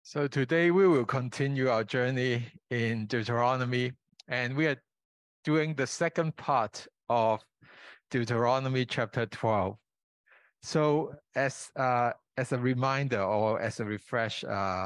So today we will continue our journey in Deuteronomy, and we are doing the second part of Deuteronomy chapter 12. So as a reminder or as a refresh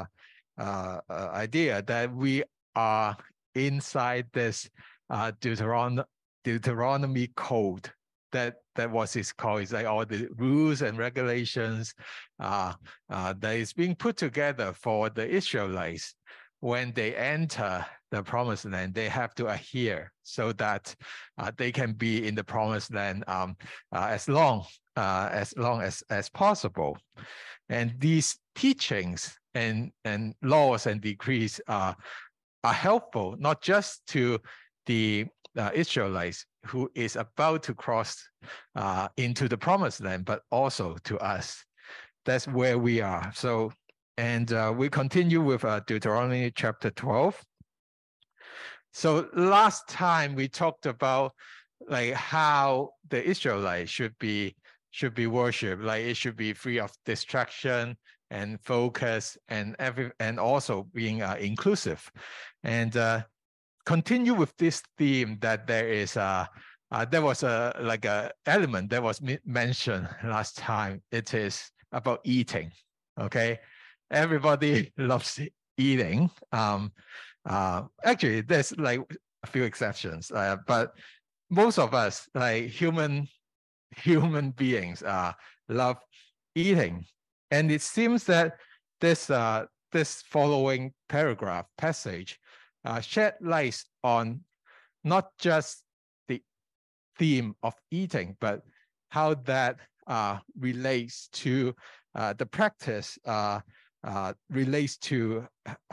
idea that we are inside this Deuteronomy code that was its called. It's like all the rules and regulations that is being put together for the Israelites when they enter the promised land. They have to adhere so that they can be in the promised land as long as possible. And these teachings and laws and decrees are helpful not just to the Israelites who is about to cross into the promised land, but also to us. That's where we are. So, and we continue with Deuteronomy chapter 12. So last time we talked about like how the Israelites should be worshipped, like it should be free of distraction and focus and also being inclusive. And continue with this theme that there is there was a element that was mentioned last time. It is about eating. Okay, everybody loves eating. Actually, there's like a few exceptions, but most of us, like human beings, love eating. And it seems that this following passage shed light on not just the theme of eating, but how that relates to the practice, relates to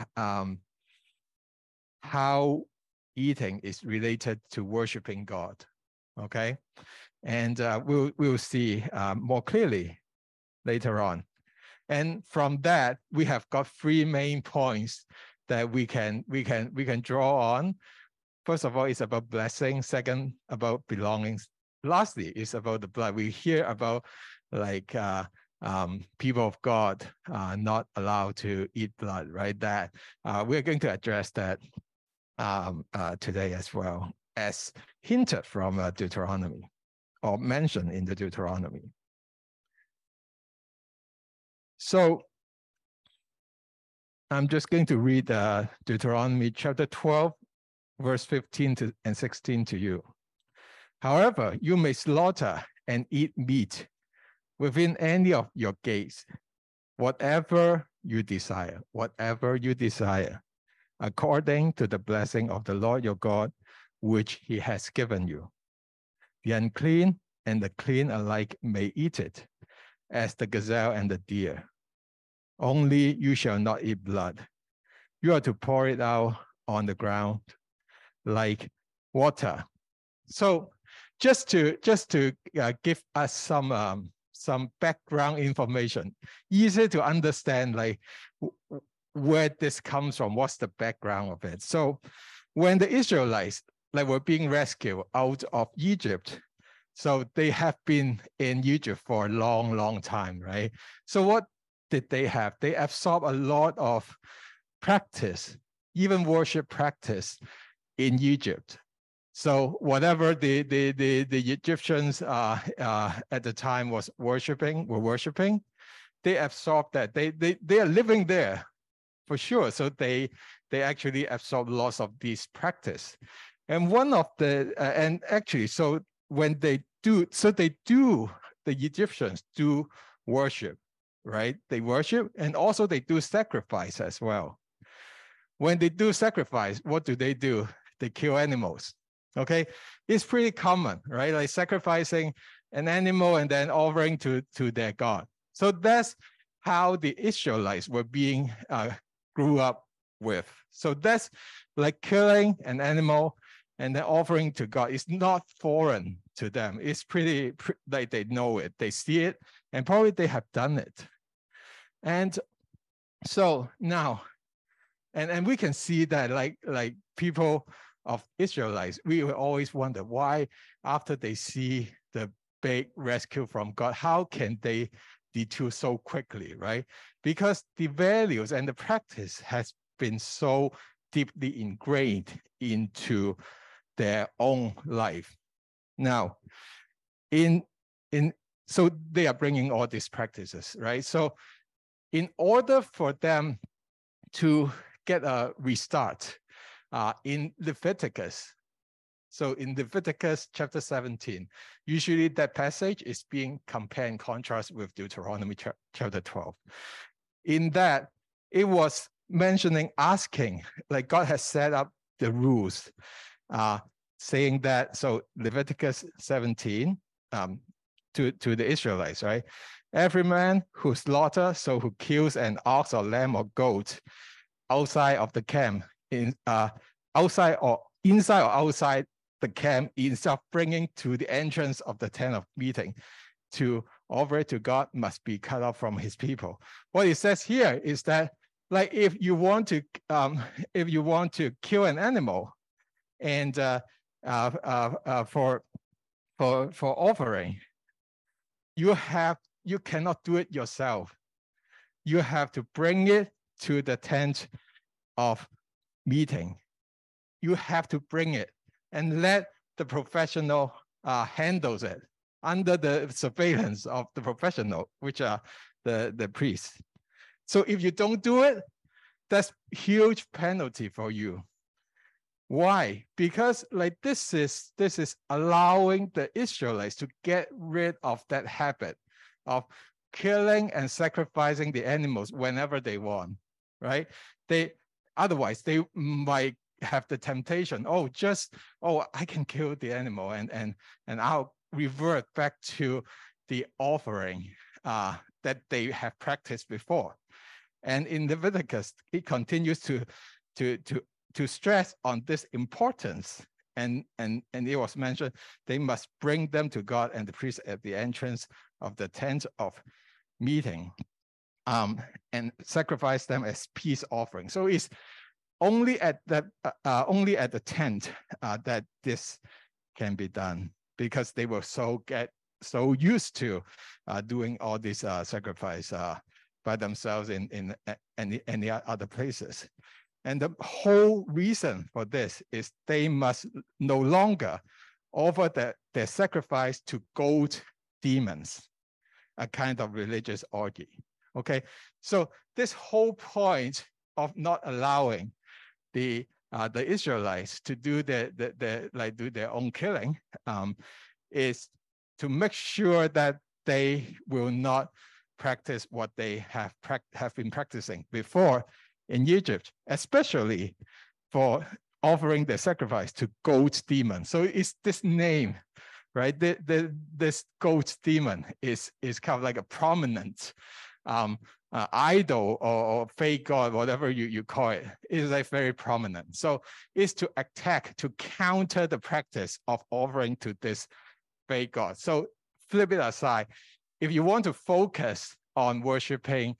how eating is related to worshiping God. Okay, and we'll see more clearly later on. And from that, we have got three main points that we can draw on. First of all, it's about blessing. Second, about belongings. Lastly, it's about the blood. We hear about like people of God not allowed to eat blood, right? That we're going to address that today as well, as hinted from Deuteronomy or mentioned in the Deuteronomy. So I'm just going to read Deuteronomy chapter 12, verse 15 and 16 to you. However, you may slaughter and eat meat within any of your gates, whatever you desire, according to the blessing of the Lord your God, which he has given you. The unclean and the clean alike may eat it, as the gazelle and the deer. Only you shall not eat blood. You are to pour it out on the ground like water. So just to give us some background information, easy to understand like where this comes from, what's the background of it. So when the Israelites were being rescued out of Egypt, so they have been in Egypt for a long time, right? So what did they have? They absorbed a lot of practice, even worship practice in Egypt. So whatever the Egyptians at the time were worshiping, they absorbed that. They are living there for sure. So they actually absorb lots of these practice. And one of the and actually, so when they do, the Egyptians do worship, right? They worship, and also they do sacrifice as well. When they do sacrifice, what do? They kill animals. Okay, it's pretty common, right? Like sacrificing an animal and then offering to their God. So that's how the Israelites were being grew up with. So that's like killing an animal and then offering to God. It's not foreign to them. It's pretty like they know it, they see it, and probably they have done it. And so now, and we can see that like people of Israelites, we will always wonder why after they see the big rescue from God, how can they detour so quickly, right? Because the values and the practice has been so deeply ingrained into their own life. Now, so they are bringing all these practices, right? So in order for them to get a restart in Leviticus, so in Leviticus chapter 17, usually that passage is being compared and contrast with Deuteronomy chapter 12. In that, it was mentioning, asking, like God has set up the rules, saying that, so Leviticus 17 to the Israelites, right? Every man who slaughters, so who kills an ox or lamb or goat outside of the camp, outside or inside or outside the camp, instead of bringing to the entrance of the tent of meeting to offer it to God, must be cut off from his people. What it says here is that, like, if you want to kill an animal, and for offering, you cannot do it yourself. You have to bring it to the tent of meeting. You have to bring it and let the professional handles it under the surveillance of the professional, which are the priests. So if you don't do it, that's huge penalty for you. Why? Because like this is allowing the Israelites to get rid of that habit of killing and sacrificing the animals whenever they want, right? Otherwise they might have the temptation, I can kill the animal and I'll revert back to the offering that they have practiced before. And in Leviticus, it continues to stress on this importance. And it was mentioned, they must bring them to God and the priest at the entrance of the tent of meeting, and sacrifice them as peace offering. So it's only at the tent that this can be done, because they were so used to doing all these sacrifice by themselves in any other places. And the whole reason for this is they must no longer offer their sacrifice to goat demons, a kind of religious orgy. Okay, so this whole point of not allowing the Israelites to do their own killing is to make sure that they will not practice what they have been practicing before in Egypt, especially for offering the sacrifice to goat demon. So it's this name, right? This goat demon is kind of like a prominent idol or fake god, whatever you call it, is like very prominent. So it's to attack, to counter the practice of offering to this fake god. So flip it aside. If you want to focus on worshiping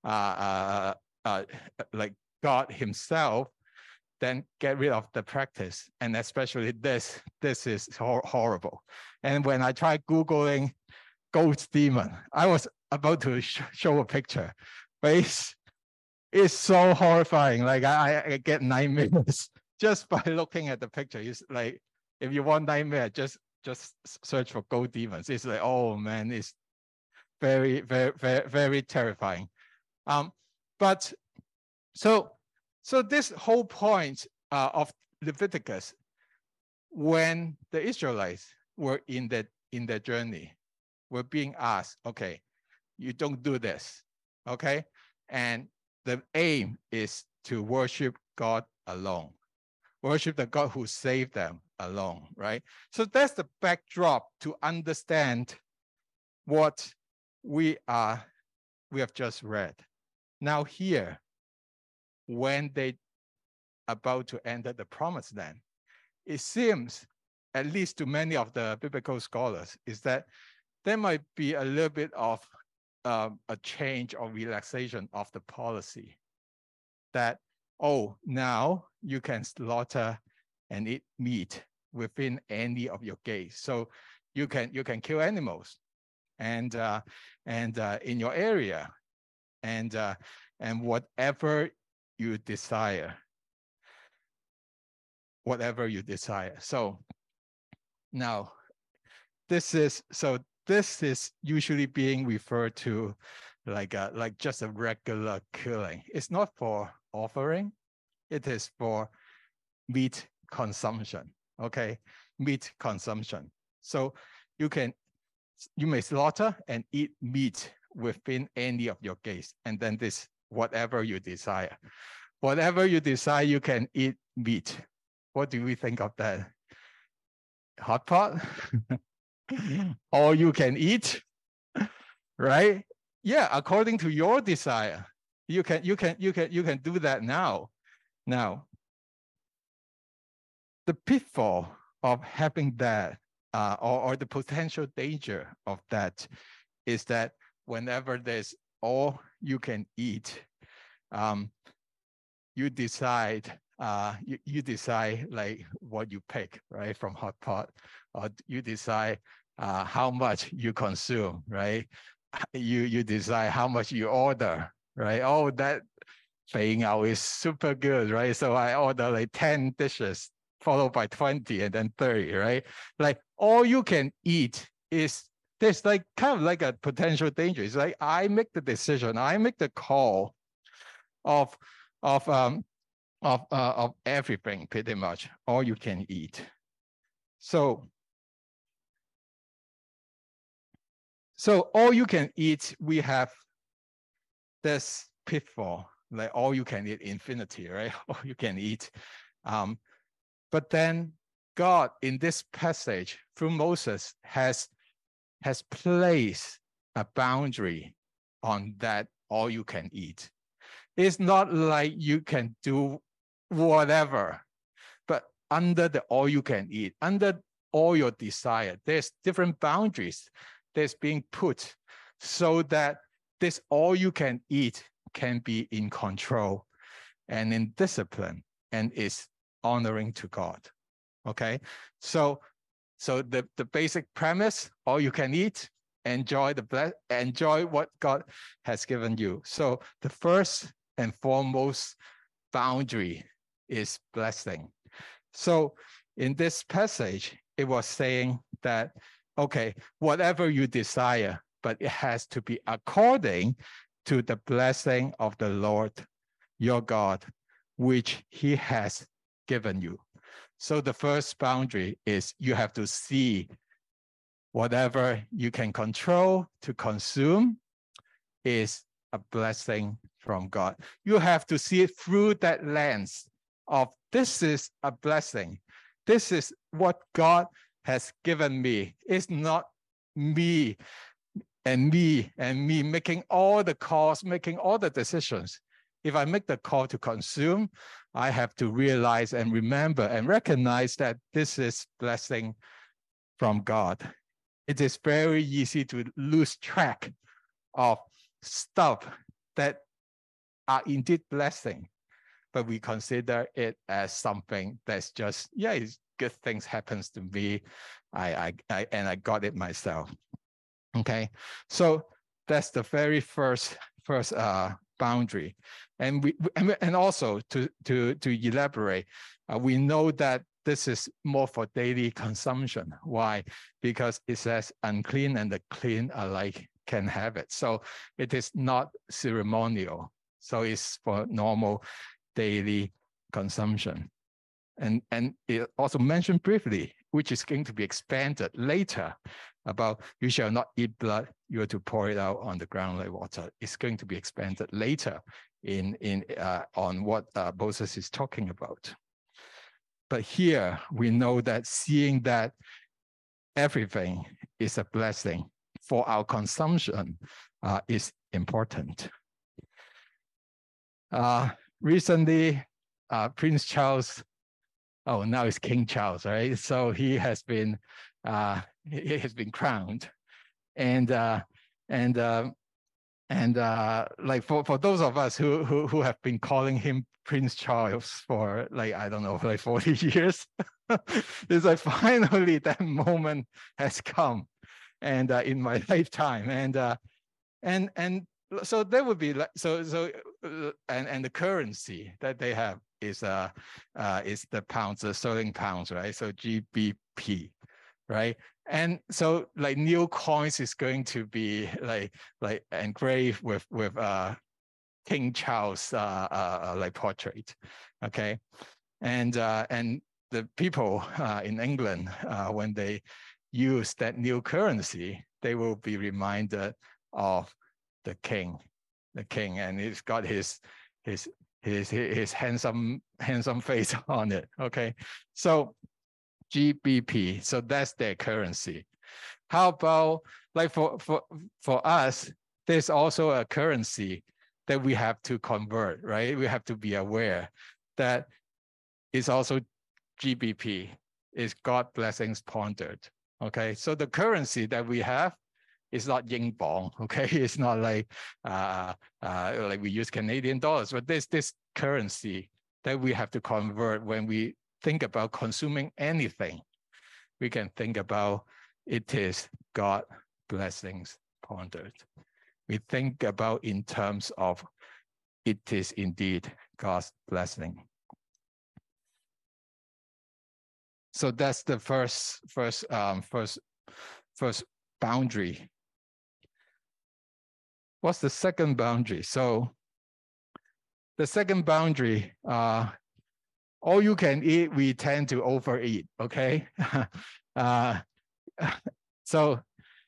like God himself, then get rid of the practice. And especially this is horrible. And when I tried Googling goat demon, I was about to show a picture, but it's so horrifying. Like I get nightmares just by looking at the picture. It's like, if you want nightmare, just search for goat demons. It's like, oh man, it's very, very, very, very terrifying. But so this whole point of Leviticus, when the Israelites were in their journey, were being asked, okay, you don't do this, okay? And the aim is to worship God alone, worship the God who saved them alone, right? So that's the backdrop to understand what we have just read. Now here, when they about to enter the promised land, it seems, at least to many of the biblical scholars, is that there might be a little bit of a change or relaxation of the policy, that, now you can slaughter and eat meat within any of your gates. So you can kill animals. and in your area, and whatever you desire. Whatever you desire. So now this is usually being referred to like just a regular killing. It's not for offering, it is for meat consumption. Okay, meat consumption. So you may slaughter and eat meat within any of your gates, and then this whatever you desire. Whatever you desire, you can eat meat. What do we think of that? Hot pot? All you can eat, right? Yeah, according to your desire, you can do that now. Now, the pitfall of having that, or the potential danger of that, is that whenever there's all you can eat, you decide you decide like what you pick, right, from hot pot, or you decide how much you consume, right? You decide how much you order, right? Oh, that Fei Ngao is super good, right? So I order like 10 dishes followed by 20 and then 30, right? Like all you can eat is, there's like kind of like a potential danger. It's like I make the decision, I make the call of everything, pretty much all you can eat. So all you can eat, we have this pitfall, like all you can eat infinity, right? All you can eat. But then God in this passage through Moses has placed a boundary on that all you can eat. It's not like you can do whatever, but under the all you can eat, under all your desire, there's different boundaries that's being put so that this all you can eat can be in control and in discipline and is honoring to God. Okay, so the basic premise, all you can eat, enjoy what God has given you. So the first and foremost boundary is blessing. So in this passage, it was saying that, okay, whatever you desire, but it has to be according to the blessing of the Lord your God, which he has given you. So the first boundary is you have to see whatever you can control to consume is a blessing from God. You have to see it through that lens of this is a blessing. This is what God has given me. It's not me making all the calls, making all the decisions. If I make the call to consume, I have to realize and remember and recognize that this is blessing from God. It is very easy to lose track of stuff that are indeed blessing, but we consider it as something that's just, yeah, it's good things happens to me. I got it myself. Okay, so that's the very first boundary, and also to elaborate, we know that this is more for daily consumption. Why? Because it says unclean and the clean alike can have it. So it is not ceremonial. So it's for normal daily consumption. And it also mentioned briefly, which is going to be expanded later, about you shall not eat blood, you are to pour it out on the ground like water. It's going to be expanded later on what Moses is talking about. But here we know that seeing that everything is a blessing for our consumption is important. Recently, Prince Charles, now it's King Charles, right? So he has been crowned, and like for those of us who have been calling him Prince Charles for like, I don't know, like 40 years, it's like finally that moment has come. and in my lifetime, and so there would be like and the currency that they have is the pounds, the sterling pounds, right? So GBP, right? And so like new coins is going to be like engraved with King Charles like portrait, okay? And the people in England, when they use that new currency, they will be reminded of the king, and he's got his handsome face on it. Okay, so GBP, so that's their currency. How about like for us, there's also a currency that we have to convert, right? We have to be aware that is also GBP, is God blessings pondered. Okay, so the currency that we have is not yin bong, okay? It's not like we use Canadian dollars, but there's this currency that we have to convert when we think about consuming anything. We can think about it is God blessings pondered. We think about in terms of it is indeed God's blessing. So that's the first boundary. What's the second boundary? So the second boundary, all you can eat, we tend to overeat, okay? So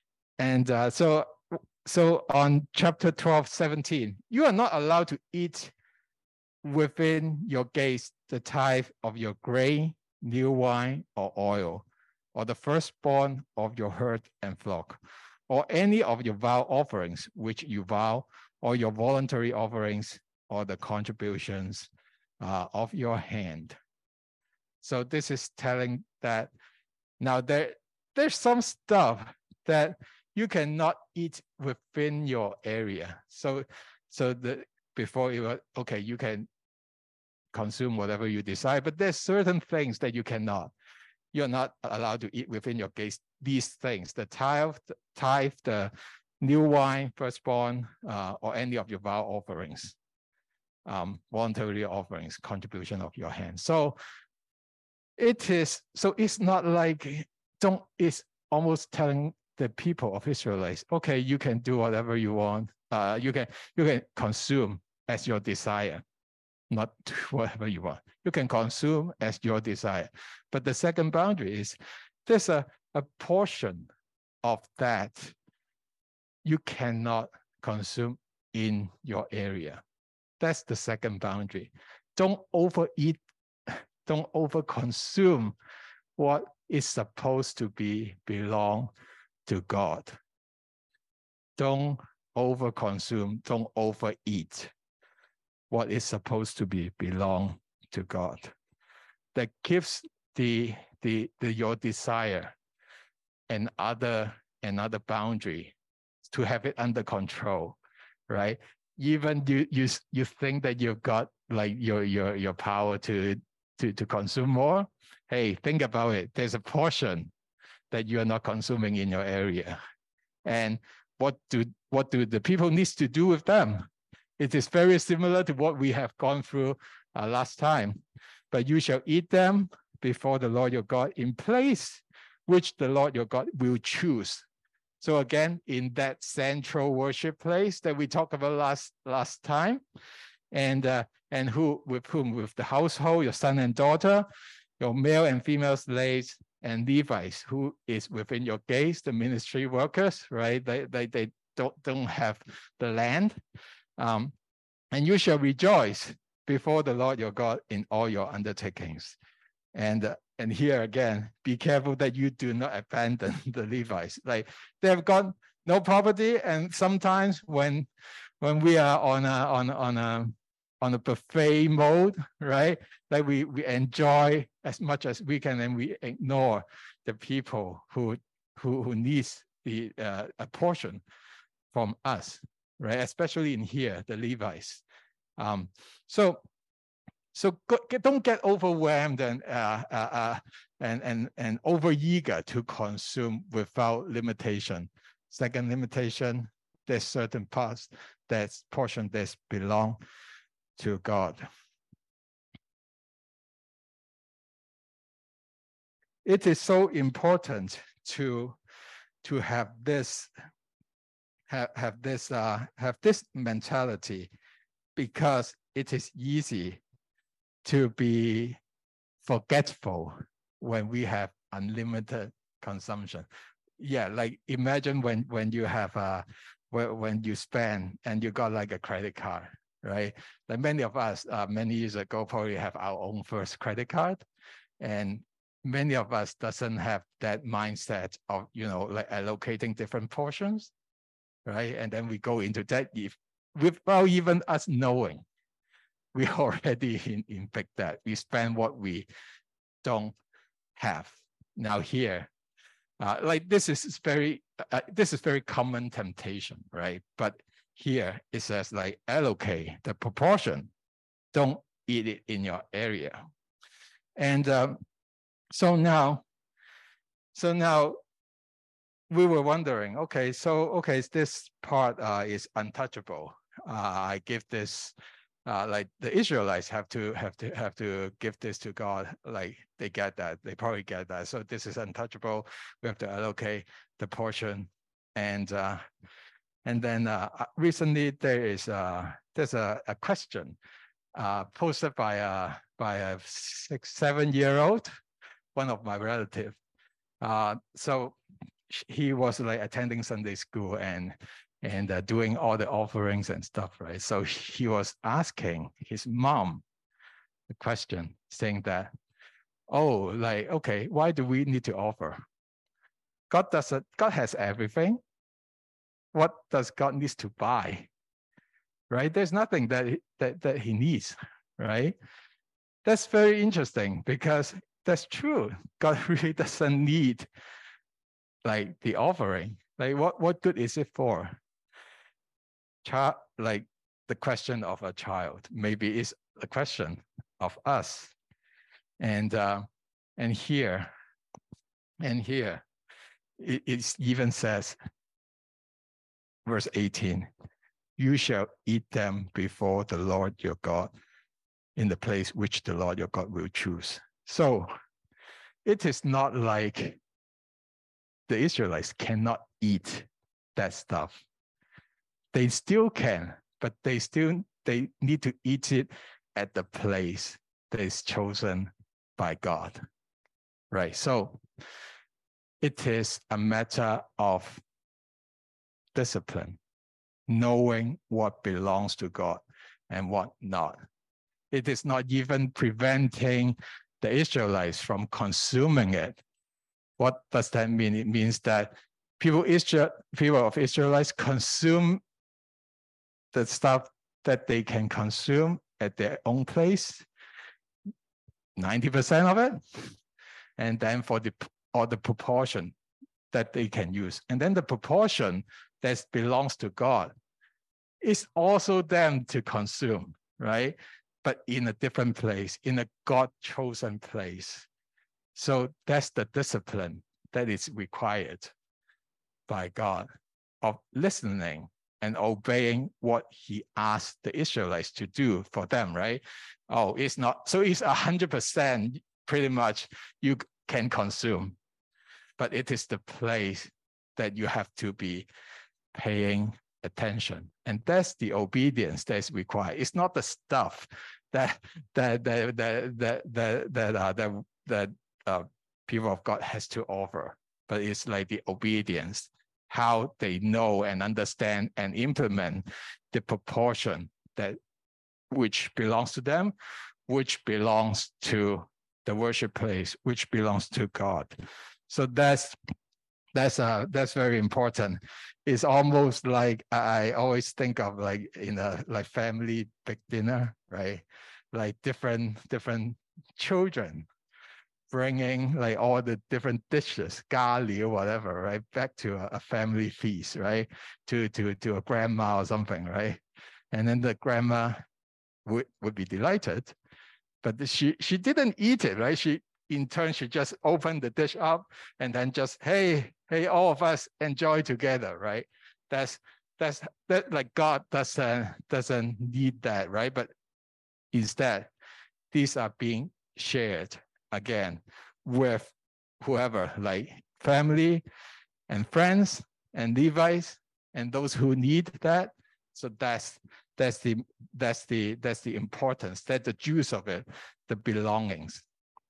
on chapter 12:17, you are not allowed to eat within your gates the tithe of your grain, new wine, or oil, or the firstborn of your herd and flock, or any of your vow offerings which you vow, or your voluntary offerings, or the contributions of your hand. So this is telling that now there's some stuff that you cannot eat within your area. So before it was okay, you can consume whatever you decide, but there's certain things that you cannot. You're not allowed to eat within your gates these things: the tithe, the new wine, firstborn, or any of your vow offerings, voluntary offerings, contribution of your hand. So it's not like it's almost telling the people of Israelites, okay, you can do whatever you want. You can consume as your desire, not do whatever you want. You can consume as your desire. But the second boundary is there's a portion of that you cannot consume in your area. That's the second boundary. Don't overeat, don't overconsume what is supposed to belong to God. Don't overconsume, don't overeat what is supposed to belong to God. That gives your desire another boundary to have it under control, right? Even you think that you've got like your power to consume more. Hey, think about it. There's a portion that you are not consuming in your area, and what do the people need to do with them? It is very similar to what we have gone through last time. But you shall eat them before the Lord your God in place which the Lord your God will choose. So again, in that central worship place that we talked about last time, and with the household, your son and daughter, your male and female slaves, and Levites, who is within your gates, the ministry workers, right? They don't have the land. And you shall rejoice before the Lord your God in all your undertakings. And here again, be careful that you do not abandon the Levites. Like they have got no property, and sometimes when we are on a buffet mode, right? Like we enjoy as much as we can, and we ignore the people who needs a portion from us, right? Especially in here, the Levites. So So don't get overwhelmed and overeager to consume without limitation. Second limitation, there's certain parts, there's portion that belong to God. It is so important to have this mentality, because it is easy to be forgetful when we have unlimited consumption. Yeah, like imagine when you have when you spend and you got like a credit card, right? Like many of us many years ago probably have our own first credit card, and many of us doesn't have that mindset of, you know, like allocating different portions, right? And then we go into that without even us knowing. We already in big debt. We spend what we don't have. Now here, like this is very common temptation, right? But here it says like allocate the proportion. Don't eat it in your area. And so now we were wondering, okay, this part is untouchable. I give this, like the Israelites have to give this to God. Like they get that, they probably get that. So this is untouchable. We have to allocate the portion, and then recently there's a question posted by a 6-7-year-old, one of my relatives. So he was like attending Sunday school and doing all the offerings and stuff, right? So he was asking his mom the question, saying that, oh, like, okay, why do we need to offer? God has everything. What does God needs to buy? Right? There's nothing that he needs, right? That's very interesting, because that's true. God really doesn't need like the offering. Like what good is it for? Like the question of a child maybe is a question of us. And here it even says, verse 18, you shall eat them before the Lord your God in the place which the Lord your God will choose. So it is not like the Israelites cannot eat that stuff. They still can, but they need to eat it at the place that is chosen by God, right? So it is a matter of discipline, knowing what belongs to God and what not. It is not even preventing the Israelites from consuming it. What does that mean? It means that people of Israelites consume the stuff that they can consume at their own place, 90% of it, and then for the proportion that they can use. And then the proportion that belongs to God is also them to consume, right? But in a different place, in a God-chosen place. So that's the discipline that is required by God, of listening and obeying what he asked the Israelites to do for them, right? Oh, it's not, so it's 100% pretty much you can consume, but it is the place that you have to be paying attention. And that's the obedience that's required. It's not the stuff that people of God has to offer, but it's like the obedience, how they know and understand and implement the proportion that which belongs to them, which belongs to the worship place, which belongs to God. So that's very important. It's almost like I always think of like in a like family big dinner, right? Like different children bringing like all the different dishes, gali or whatever, right, back to a family feast, right, to a grandma or something, right, and then the grandma would be delighted, But she didn't eat it, right? She just opened the dish up and then just, hey, all of us enjoy together, right? That like God doesn't need that, right? But instead, these are being shared again with whoever, like family and friends and Levites and those who need that. So that's the importance, that's the juice of it, the belongings.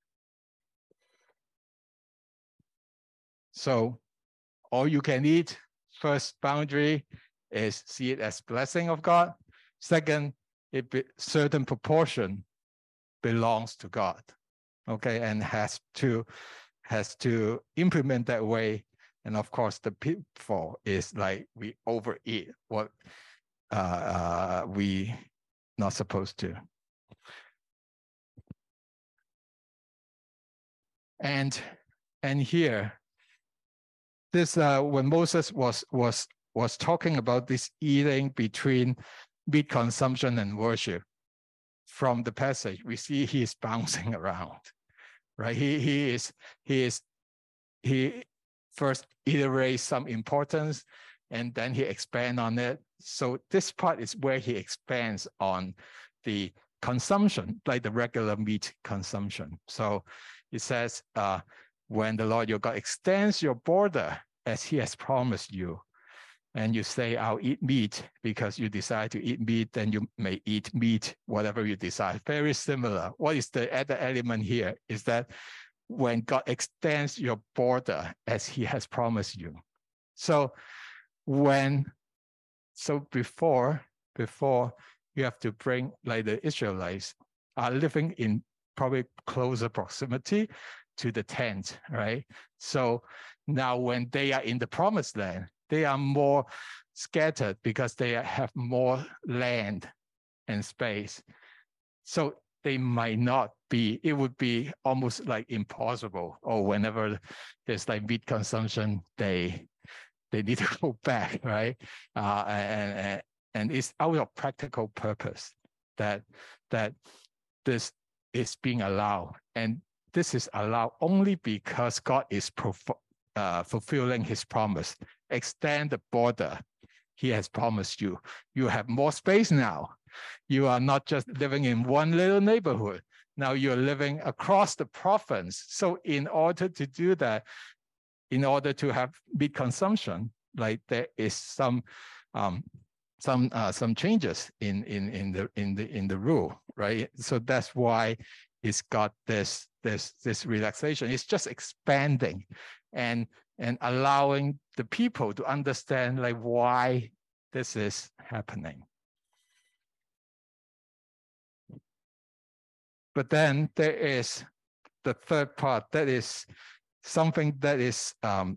So all you can eat, first boundary is see it as blessing of God. Second, certain proportion belongs to God, okay, and has to implement that way. And of course, the pitfall is like we overeat what we not supposed to. And here, this when Moses was talking about this eating between meat consumption and worship, from the passage we see he is bouncing around, right? He first iterates some importance and then he expands on it. So this part is where he expands on the consumption, like the regular meat consumption. So it says, when the Lord your God extends your border as he has promised you, and you say, I'll eat meat because you decide to eat meat, then you may eat meat, whatever you decide. Very similar. What is the other element here is that when God extends your border as he has promised you. So before you have to bring, like the Israelites are living in probably closer proximity to the tent, right? So now when they are in the promised land, they are more scattered because they have more land and space. So they might not be, it would be almost like impossible. Or whenever there's like meat consumption, they need to go back, right? And it's out of practical purpose that this is being allowed. And this is allowed only because God is fulfilling his promise. Extend the border he has promised you. You have more space now. You are not just living in one little neighborhood. Now you're living across the province. So in order to do that, in order to have meat consumption, like there is some changes in the rule, right? So that's why it's got this relaxation. It's just expanding and allowing the people to understand like why this is happening. But then there is the third part, that is something that's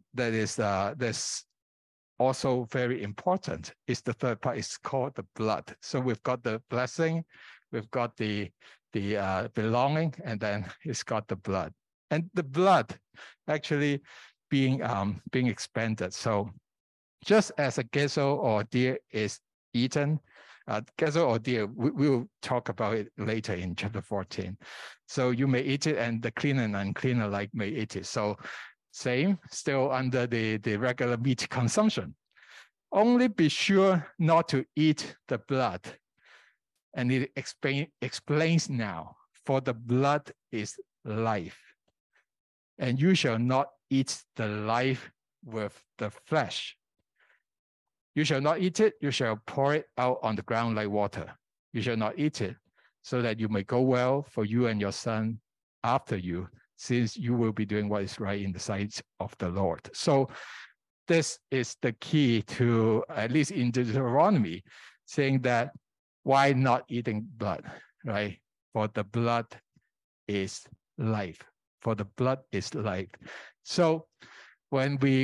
also very important. Is the third part is called the blood. So we've got the blessing, we've got the belonging, and then it's got the blood. And the blood actually being expanded. So just as a gazelle or deer is eaten, gazelle or deer, we will talk about it later in chapter 14. So you may eat it, and the clean and unclean alike may eat it. So same, still under the regular meat consumption. Only be sure not to eat the blood. And it explains now, for the blood is life. And you shall not eat the life with the flesh. You shall not eat it, you shall pour it out on the ground like water. You shall not eat it, so that you may go well for you and your son after you, since you will be doing what is right in the sight of the Lord. So this is the key to, at least in Deuteronomy, saying that why not eating blood, right? For the blood is life. For the blood is life. So when we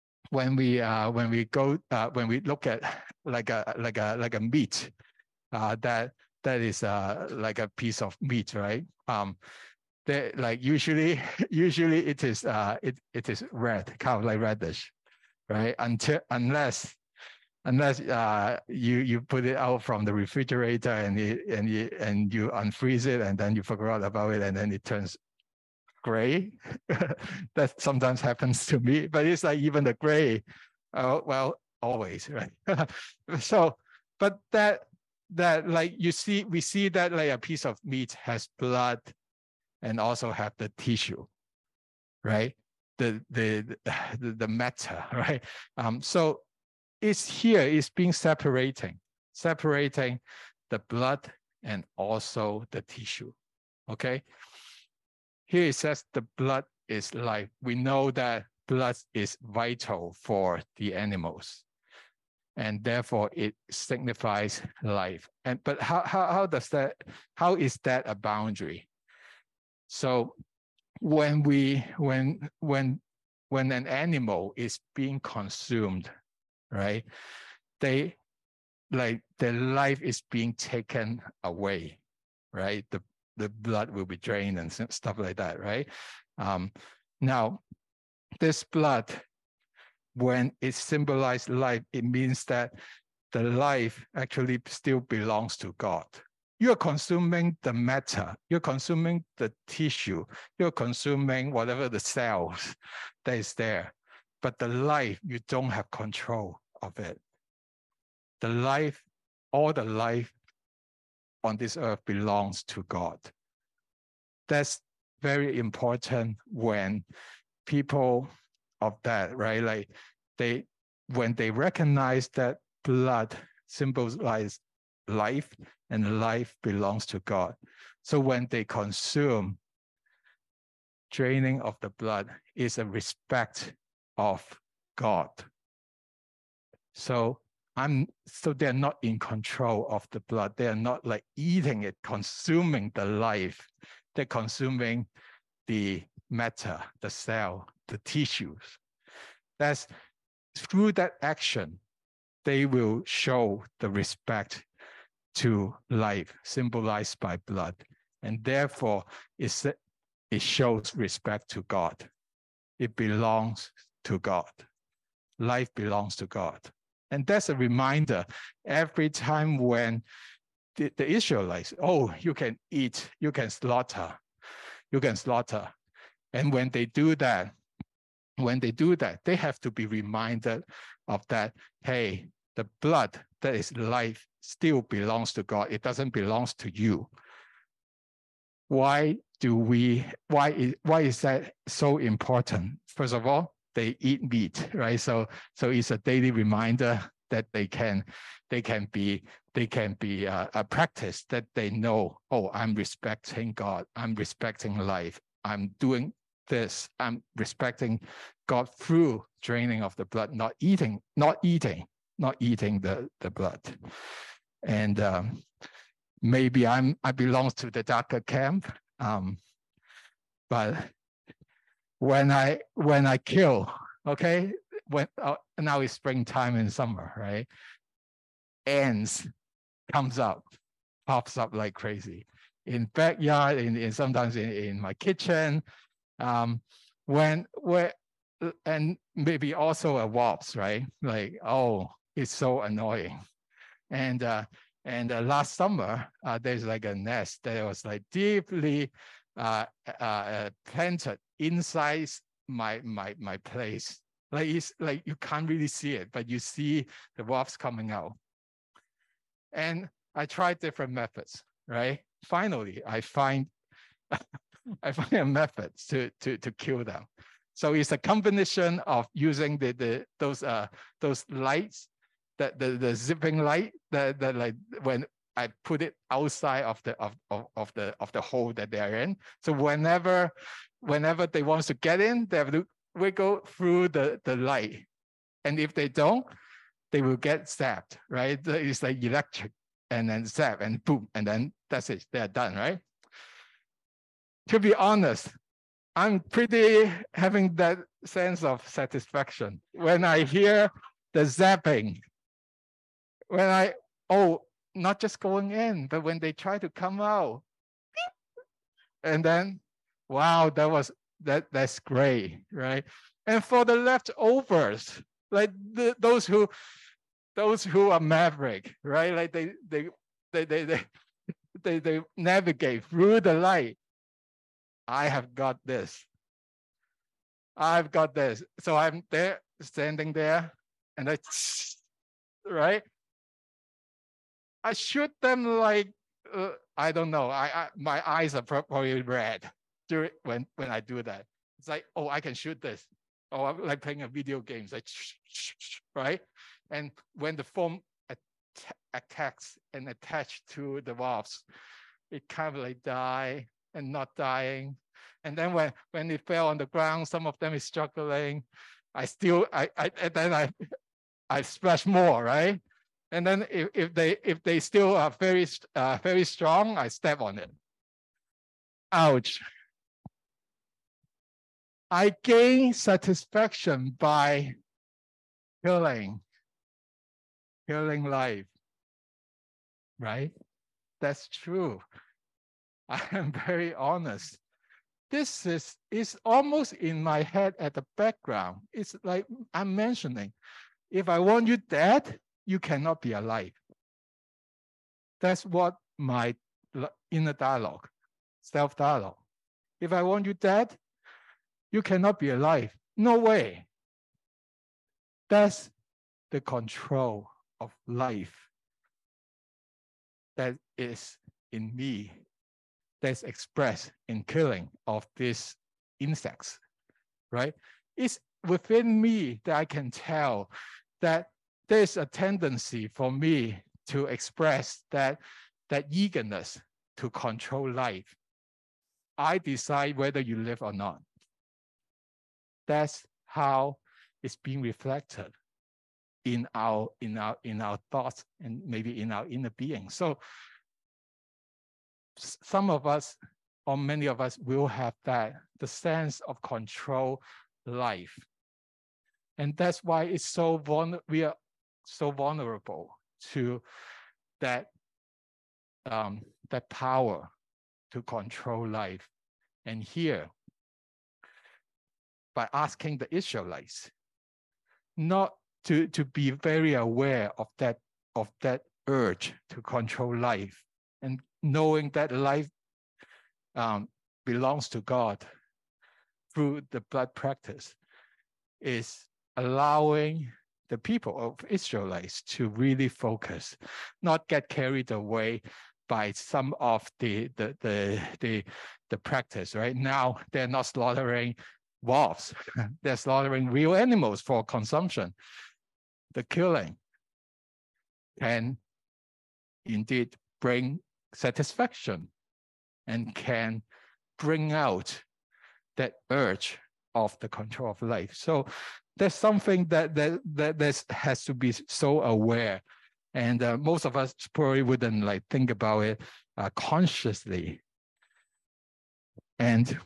look at like a meat, that is like a piece of meat, right? Like usually it is red, kind of like reddish, right? Unless unless you put it out from the refrigerator and you unfreeze it and then you forgot about it and then it turns gray. That sometimes happens to me, but it's like even the gray, well, always, right? So, but that like we see that like a piece of meat has blood and also have the tissue, right? The matter, right? So it's being separating the blood and also the tissue, okay? Here it says the blood is life. We know that blood is vital for the animals, and therefore it signifies life. But how is that a boundary? So when an animal is being consumed, right? Their life is being taken away, right? The blood will be drained and stuff like that, right? Now, this blood, when it symbolizes life, it means that the life actually still belongs to God. You're consuming the matter, you're consuming the tissue, you're consuming whatever the cells that is there. But the life, you don't have control of it. The life, all the life on this earth belongs to God. That's very important when people of that, right? Like when they recognize that blood symbolizes life and life belongs to God. So when they consume, draining of the blood is a respect of God. So they're not in control of the blood. They are not like eating it, consuming the life. They're consuming the matter, the cell, the tissues. That's through that action, they will show the respect to life, symbolized by blood. And therefore, it shows respect to God. It belongs to God. Life belongs to God. And that's a reminder every time when the Israelites, oh, you can eat, you can slaughter. And when they do that, they have to be reminded of that, hey, the blood that is life still belongs to God. It doesn't belong to you. Why is that so important? First of all, they eat meat, right? So it's a daily reminder that they can be a practice that they know, oh, I'm respecting God, I'm respecting life, I'm doing this, I'm respecting God through draining of the blood, not eating the blood. And maybe I belong to the darker camp, but when I kill, okay, now it's springtime and summer, right? Ants pops up like crazy in backyard, sometimes in my kitchen, and maybe also a wasp, right? Like, oh, it's so annoying. And last summer, there's like a nest that was like deeply planted inside my place. Like it's like you can't really see it, but you see the wasps coming out. And I tried different methods, right? Finally, I find a method to kill them. So it's a combination of using those lights, the zipping light that like when I put it outside of the hole that they're in. So whenever they want to get in, they have to wiggle through the light. And if they don't, they will get zapped, right? It's like electric and then zap and boom, and then that's it, they're done, right? To be honest, I'm pretty having that sense of satisfaction when I hear the zapping. Not just going in, but when they try to come out. And then, wow, that's great, right? And for the leftovers, like those who those who are maverick, right? Like they navigate through the light. I have got this. I've got this. So I'm there, standing there, and right? I shoot them like, I don't know. My eyes are probably red during when I do that. It's like, oh, I can shoot this. Oh, I'm like playing a video game, like, right? And when the foam attacks and attach to the valves, it kind of like die and not dying. And then when it fell on the ground, some of them is struggling. I splash more, right? And then if they still are very strong, I step on it. Ouch. I gain satisfaction by killing life, right? That's true. I am very honest. This is almost in my head at the background. It's like I'm mentioning, if I want you dead, you cannot be alive. That's what my inner dialogue, self-dialogue. If I want you dead, you cannot be alive. No way. That's the control of life that is in me, that's expressed in killing of these insects, right? It's within me that I can tell that there's a tendency for me to express that eagerness to control life. I decide whether you live or not. That's how it's being reflected in our thoughts and maybe in our inner being. So some of us, or many of us, will have that, the sense of control life. And that's why it's we are so vulnerable to that power to control life. And here, by asking the Israelites not to be very aware of that urge to control life, and knowing that life belongs to God through the blood practice, is allowing the people of Israelites to really focus, not get carried away by some of the practice. Right now, they're not slaughtering wolves; they're slaughtering real animals for consumption. The killing can indeed bring satisfaction and can bring out that urge of the control of life. So there's something that has to be so aware, and most of us probably wouldn't like think about it consciously. And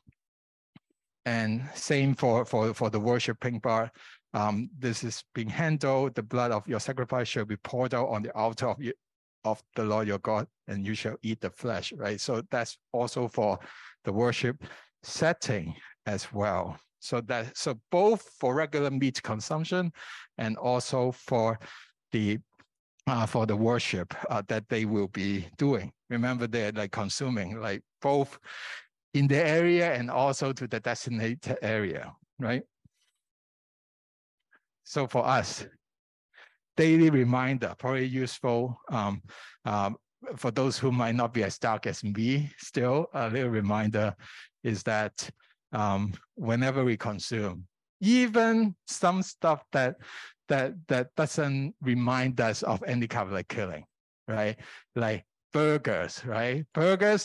same for the worshiping part. This is being handled. The blood of your sacrifice shall be poured out on the altar of the Lord your God, and you shall eat the flesh, right? So that's also for the worship setting as well. So both for regular meat consumption and also for the worship that they will be doing. Remember, they're like consuming, like both in the area and also to the designated area, right? So for us, daily reminder, probably useful for those who might not be as dark as me. Still, a little reminder is that whenever we consume, even some stuff that doesn't remind us of any kind of like killing, right? Like burgers, right? Burgers.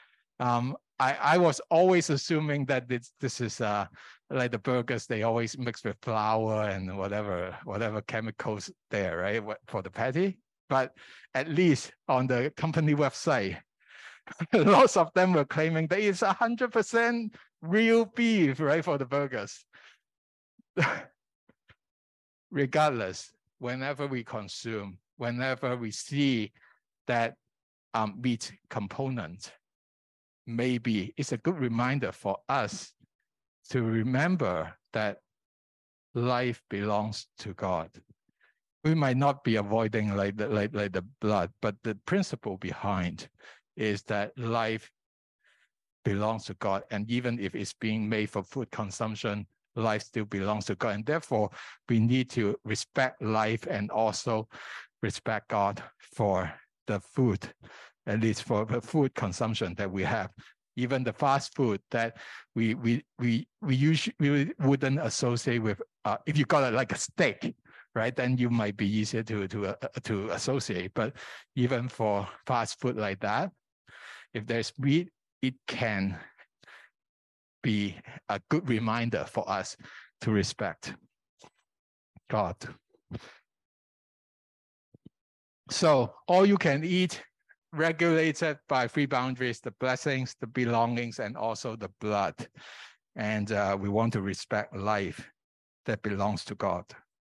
I was always assuming that this is like the burgers, they always mix with flour and whatever chemicals there, right? For the patty. But at least on the company website, lots of them were claiming that it's 100% real beef, right, for the burgers. Regardless, whenever we consume, whenever we see that meat component, maybe it's a good reminder for us to remember that life belongs to God. we might not be avoiding like the blood, but the principle behind is that life belongs to God. And even if it's being made for food consumption, life still belongs to God. And therefore, we need to respect life and also respect God for the food, at least for the food consumption that we have. Even the fast food that we usually wouldn't associate with. If you got it like a steak, right, then you might be easier to associate. But even for fast food like that, if there's meat, it can be a good reminder for us to respect God. So all you can eat, regulated by three boundaries: the blessings, the belongings, and also the blood. And we want to respect life that belongs to God.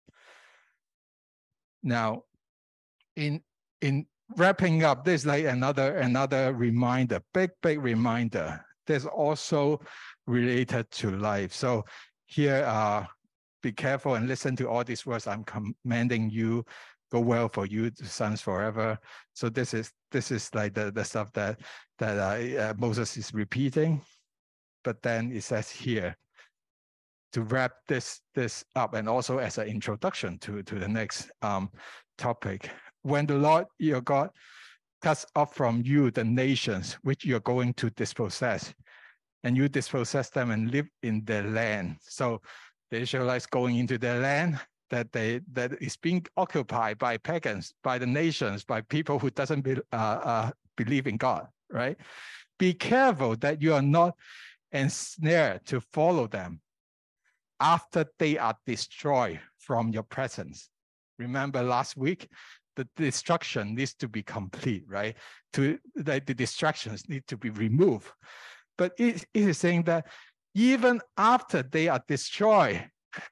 Now, in wrapping up, there's like another reminder, big reminder. There's also related to life. So here, be careful and listen to all these words. I'm commanding you, go well for you, sons forever. So this is like the stuff that Moses is repeating. But then it says here, to wrap this up, and also as an introduction to the next topic. When the Lord your God cuts off from you the nations which you're going to dispossess, and you dispossess them and live in their land. So the Israelites going into their land that is being occupied by pagans, by the nations, by people who doesn't believe in God, right? Be careful that you are not ensnared to follow them after they are destroyed from your presence. Remember last week, the destruction needs to be complete, right? The distractions need to be removed. But it is saying that even after they are destroyed,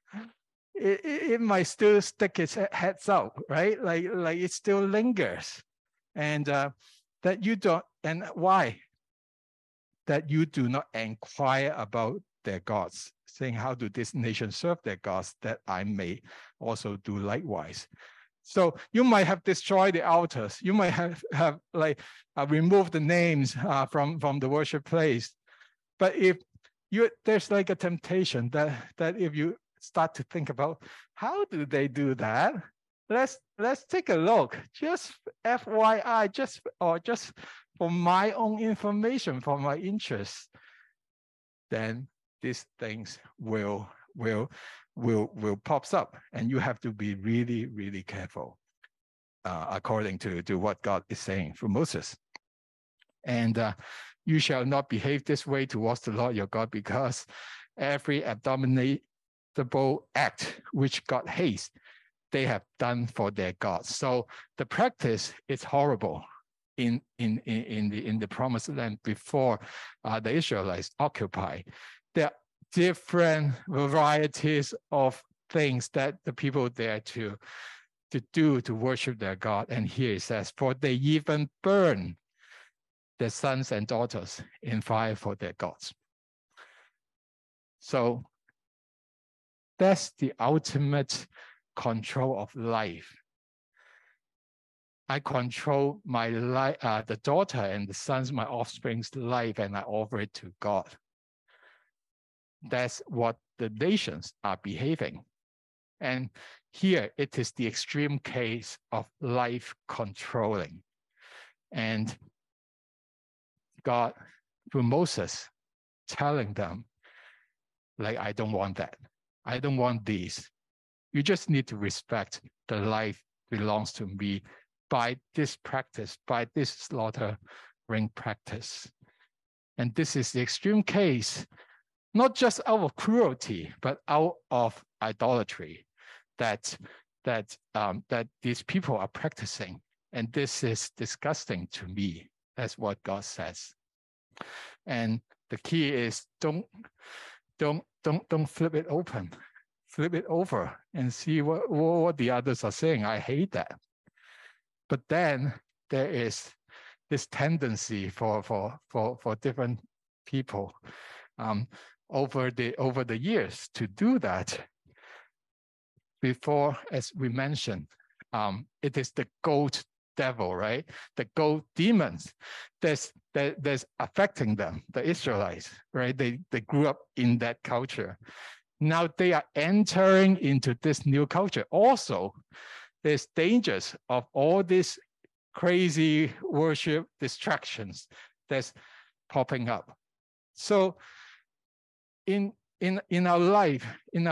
it might still stick its heads up, right? Like it still lingers. And that you don't, and why? That you do not inquire about their gods, saying, how do this nation serve their gods, that I may also do likewise. So you might have destroyed the altars. You might have removed the names from the worship place. But if there's like a temptation that if you start to think about how do they do that, let's take a look. Just FYI, just for my own information, for my interest, then these things will pops up, and you have to be really, really careful according to what God is saying through Moses. And you shall not behave this way towards the Lord your God, because every abominable act which God hates, they have done for their gods. So the practice is horrible in the promised land before the Israelites occupy. There are different varieties of things that the people there to do to worship their God. And here it says, for they even burn their sons and daughters in fire for their gods. So that's the ultimate control of life. I control my life, the daughter and the sons, my offspring's life, and I offer it to God. That's what the nations are behaving. And here it is the extreme case of life controlling. And God, through Moses, telling them, like, I don't want that. I don't want these. You just need to respect the life belongs to me by this practice, by this slaughtering practice. And this is the extreme case, not just out of cruelty, but out of idolatry that these people are practicing. And this is disgusting to me. That's what God says. And the key is don't flip it open. Flip it over and see what the others are saying. I hate that. But then there is this tendency for different people over the years to do that. Before, as we mentioned, it is the goat devil, right? The goat demons that's affecting them, the Israelites, right? They grew up in that culture. Now they are entering into this new culture. Also, there's dangers of all these crazy worship distractions that's popping up. So in our life,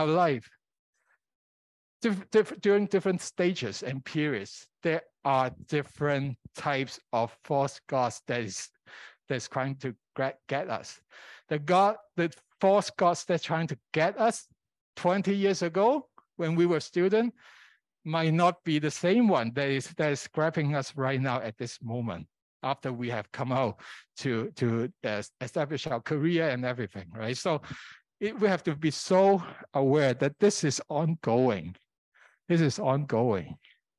during different stages and periods, there are different types of false gods that's trying to get us. The false gods that's trying to get us 20 years ago when we were students might not be the same one that is grabbing us right now at this moment, after we have come out to establish our career and everything, right? So we have to be so aware that this is ongoing. This is ongoing.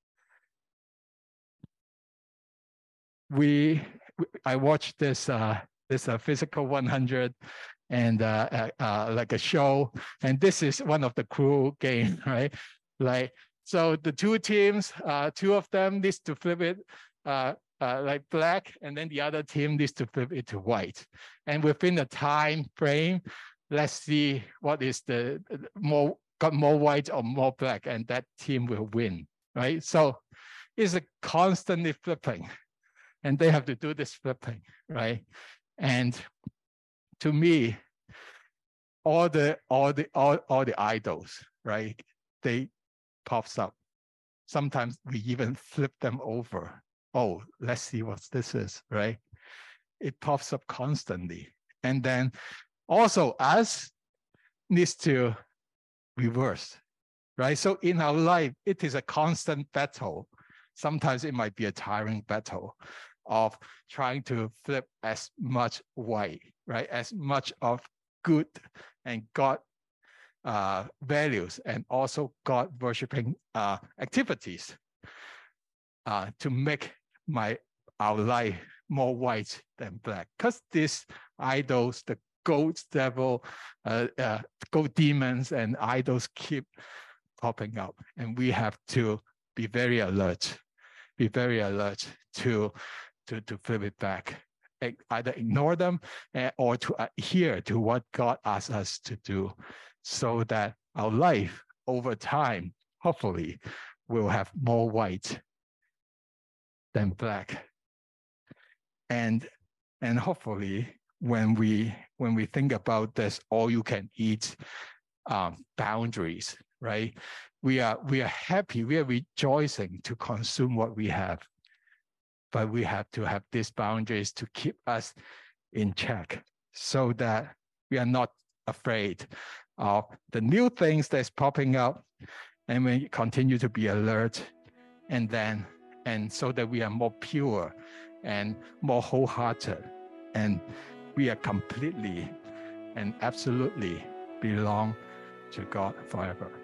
I watched this Physical 100 and like a show, and this is one of the cruel game, right? Like, so the two teams, two of them needs to flip it like black, and then the other team needs to flip it to white. And within a time frame, let's see what is got more white or more black, and that team will win, right? So it's a constantly flipping, and they have to do this flipping, right? And to me, all the idols, right? They pops up. Sometimes we even flip them over. Oh, let's see what this is, right? It pops up constantly. And then also us needs to reverse, right? So in our life, it is a constant battle. Sometimes it might be a tiring battle of trying to flip as much white, right? As much of good and God values and also God worshiping activities to make our life more white than black. Because these idols, the goat devil, goat demons and idols keep popping up, and we have to be very alert. Be very alert to flip it back. Either ignore them or to adhere to what God asks us to do, so that our life over time, hopefully, will have more white than black. And hopefully, when we think about this all-you-can-eat boundaries, right? We are happy, we are rejoicing to consume what we have, but we have to have these boundaries to keep us in check, so that we are not afraid of the new things that's popping up, and we continue to be alert, and so that we are more pure and more wholehearted, and we are completely and absolutely belong to God forever.